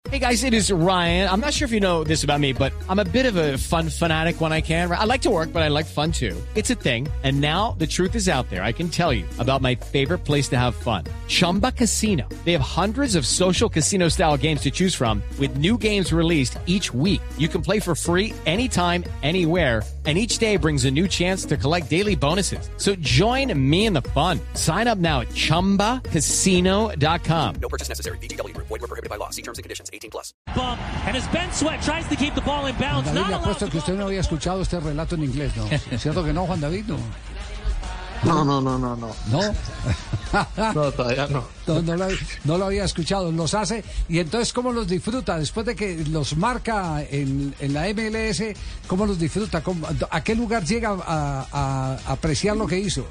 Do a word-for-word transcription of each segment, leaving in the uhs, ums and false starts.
Hey guys, it is Ryan. I'm not sure if you know this about me, but I'm a bit of a fun fanatic when I can. I like to work, but I like fun too. It's a thing. And now the truth is out there. I can tell you about my favorite place to have fun. Chumba Casino. They have hundreds of social casino style games to choose from with new games released each week. You can play for free anytime, anywhere. And each day brings a new chance to collect daily bonuses. So join me in the fun. Sign up now at chumba casino dot com. No purchase necessary. V G W. Void were prohibited by law. See terms and conditions. eighteen plus. Bump, and as Ben Sweat tries to keep the ball in bounds. Juan David, le apuesto que usted no había escuchado este relato en inglés, ¿no? ¿Cierto que no, Juan David? No, no, no, no, no. ¿No? ¿No? No, todavía no. No, no, lo, no lo había escuchado, los hace. Y entonces, ¿cómo los disfruta? Después de que los marca en, en la M L S, ¿cómo los disfruta? ¿Cómo, ¿A qué lugar llega a, a, a apreciar lo que hizo?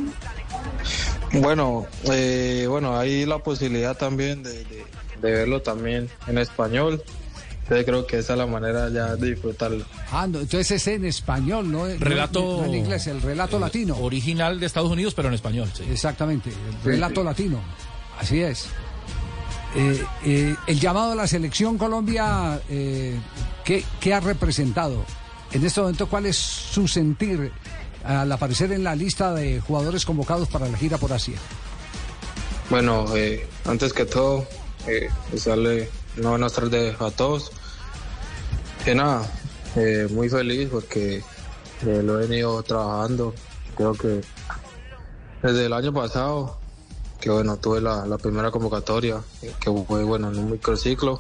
Bueno, eh, bueno, hay la posibilidad también de, de, de verlo también en español. Entonces creo que esa es la manera ya de disfrutarlo. Ah, no, entonces es en español, ¿no? Relato no, no en inglés, el relato eh, latino. Original de Estados Unidos, pero en español, sí. Exactamente, el relato sí, sí. latino. Así es. Eh, eh, el llamado a la selección Colombia, eh, ¿qué, ¿qué ha representado? En este momento, ¿cuál es su sentir al aparecer en la lista de jugadores convocados para la gira por Asia? Bueno, eh, antes que todo, eh, desearle una buena tarde a todos. Que nada, eh, muy feliz porque eh, lo he venido trabajando. Creo que desde el año pasado, que bueno, tuve la, la primera convocatoria, que fue bueno en un microciclo,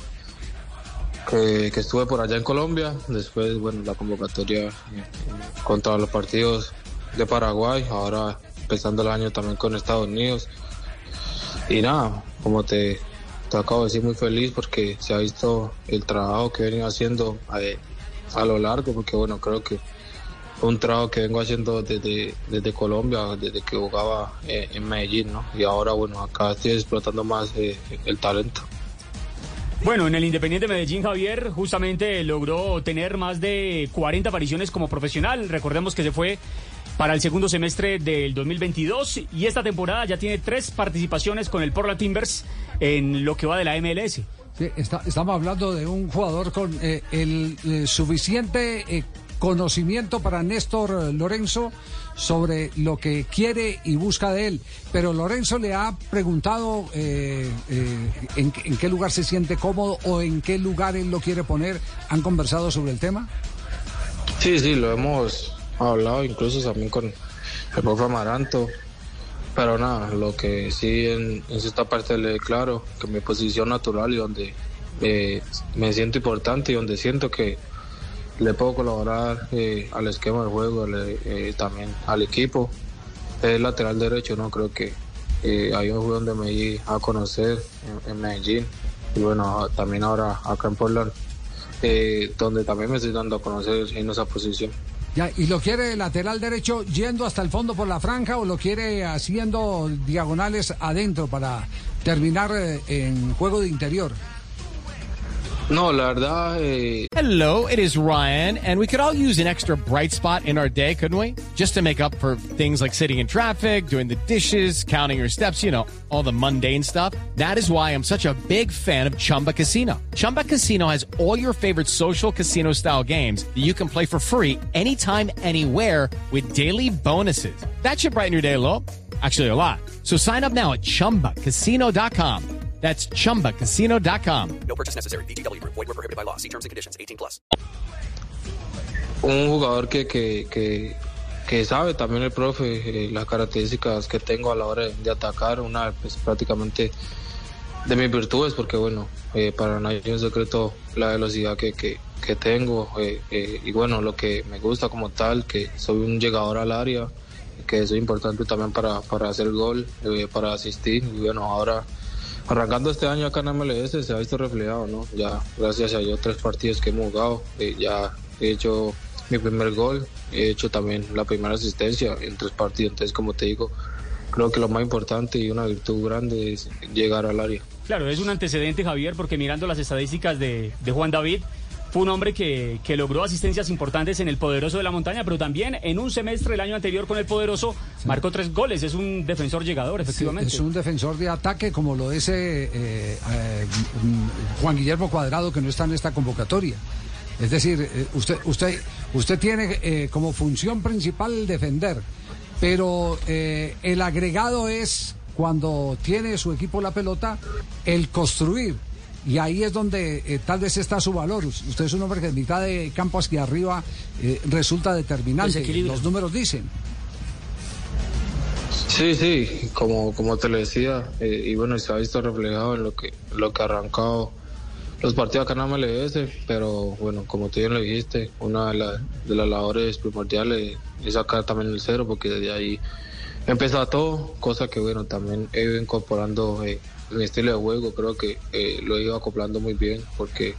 que, que estuve por allá en Colombia. Después, bueno, la convocatoria eh, contra los partidos de Paraguay, ahora empezando el año también con Estados Unidos. Y nada, como te, te acabo de decir, muy feliz porque se ha visto el trabajo que he venido haciendo eh, a lo largo, porque bueno, creo que un trabajo que vengo haciendo desde, desde Colombia, desde que jugaba eh, en Medellín, ¿no? Y ahora, bueno, acá estoy explotando más eh, el talento. Bueno, en el Independiente Medellín, Javier, justamente logró tener más de cuarenta apariciones como profesional. Recordemos que se fue para el segundo semestre del dos mil veintidós y esta temporada ya tiene tres participaciones con el Portland Timbers en lo que va de la M L S. Sí, está, estamos hablando de un jugador con eh, el eh, suficiente eh, conocimiento para Néstor Lorenzo sobre lo que quiere y busca de él, pero Lorenzo le ha preguntado eh, eh, en, en qué lugar se siente cómodo o en qué lugar él lo quiere poner. ¿Han conversado sobre el tema? Sí, sí, lo hemos hablado incluso también con el profe Amaranto, pero nada, lo que sí en, en esta parte le claro que mi posición natural y donde eh, me siento importante y donde siento que le puedo colaborar eh, al esquema del juego, le, eh, también al equipo, es lateral derecho, ¿no? Creo que eh, hay un juego donde me di a conocer en, en Medellín y bueno, también ahora acá en Portland, eh, donde también me estoy dando a conocer en esa posición. Ya, ¿y lo quiere lateral derecho yendo hasta el fondo por la franja o lo quiere haciendo diagonales adentro para terminar eh, en juego de interior? No, la verdad... Eh... Hello, it is Ryan, and we could all use an extra bright spot in our day, couldn't we? Just to make up for things like sitting in traffic, doing the dishes, counting your steps, you know, all the mundane stuff. That is why I'm such a big fan of Chumba Casino. Chumba Casino has all your favorite social casino-style games that you can play for free anytime, anywhere with daily bonuses. That should brighten your day a little. Actually, a lot. So sign up now at chumba casino dot com. That's chumba casino dot com. No purchase necessary. V G W. Void were prohibited by law. See terms and conditions. eighteen plus. Un jugador que, que, que, que sabe también el profe eh, las características que tengo a la hora de, de atacar, una pues, prácticamente de mis virtudes, porque bueno, eh, para nadie es un secreto la velocidad que, que, que tengo eh, eh, y bueno, lo que me gusta como tal, que soy un llegador al área, que soy importante también para, para hacer gol, eh, para asistir y bueno, ahora... Arrancando este año acá en M L S se ha visto reflejado, ¿no? Ya gracias a Dios tres partidos que hemos jugado, eh, ya he hecho mi primer gol, he hecho también la primera asistencia en tres partidos, entonces como te digo, creo que lo más importante y una virtud grande es llegar al área. Claro, es un antecedente, Javier, porque mirando las estadísticas de, de Juan David, fue un hombre que, que logró asistencias importantes en el Poderoso de la Montaña, pero también en un semestre el año anterior con el Poderoso sí. marcó tres goles. Es un defensor llegador, efectivamente. Sí, es un defensor de ataque como lo es eh, eh, eh, Juan Guillermo Cuadrado, que no está en esta convocatoria. Es decir, eh, usted, usted, usted tiene eh, como función principal defender, pero eh, el agregado es, cuando tiene su equipo la pelota, el construir. Y ahí es donde eh, tal vez está su valor. Usted es un hombre que de mitad de campo hacia arriba eh, resulta determinante. Los números dicen. Sí, sí, como, como te lo decía, eh, y bueno, se ha visto reflejado en lo que, lo que ha arrancado los partidos acá en la M L S, pero bueno, como tú bien lo dijiste, una de, la, de las labores primordiales es sacar también el cero, porque desde ahí empieza todo, cosa que bueno, también he ido incorporando eh, mi estilo de juego. Creo que eh, lo he ido acoplando muy bien, porque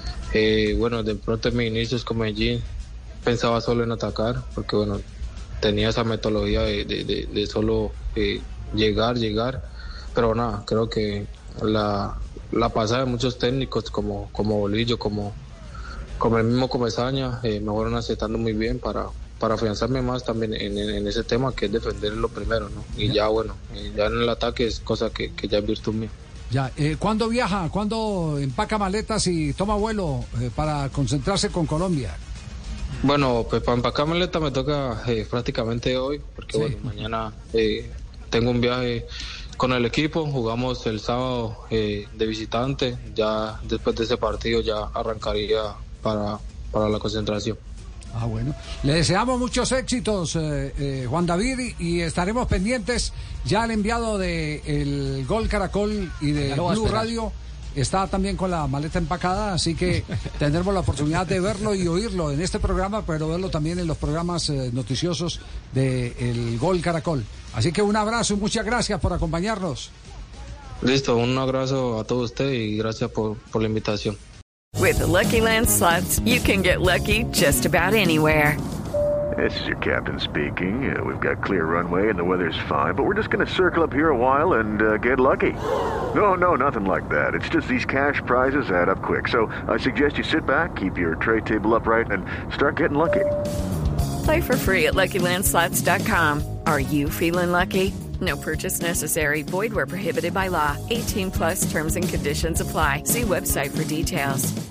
eh, bueno, de pronto en mis inicios con Medellín pensaba solo en atacar, porque bueno, tenía esa metodología de, de, de, de solo eh, llegar, llegar, pero nada, creo que la, la pasada de muchos técnicos como, como Bolillo, como, como el mismo Comesaña, eh, me fueron aceptando muy bien para, para afianzarme más también en, en, en ese tema, que es defender lo primero, ¿no? Y ya bueno, eh, ya en el ataque es cosa que, que ya es virtud mía. Ya, eh, ¿cuándo viaja? ¿Cuándo empaca maletas y toma vuelo eh, para concentrarse con Colombia? Bueno, pues para empacar maleta me toca eh, prácticamente hoy, porque sí. bueno, mañana eh, tengo un viaje con el equipo, jugamos el sábado eh, de visitante, ya después de ese partido ya arrancaría para, para la concentración. Ah, bueno. Le deseamos muchos éxitos, eh, eh, Juan David, y estaremos pendientes. Ya el enviado de el Gol Caracol y de Blue Radio está también con la maleta empacada, así que tendremos la oportunidad de verlo y oírlo en este programa, pero verlo también en los programas eh, noticiosos de el Gol Caracol. Así que un abrazo y muchas gracias por acompañarnos. Listo, un abrazo a todos ustedes y gracias por, por la invitación. With the Lucky Land Slots, you can get lucky just about anywhere. This is your captain speaking. Uh, we've got clear runway and the weather's fine, but we're just going to circle up here a while and uh, get lucky. No, no, nothing like that. It's just these cash prizes add up quick. So I suggest you sit back, keep your tray table upright, and start getting lucky. Play for free at Lucky Land Slots dot com. Are you feeling lucky? No purchase necessary. Void where prohibited by law. eighteen plus terms and conditions apply. See website for details.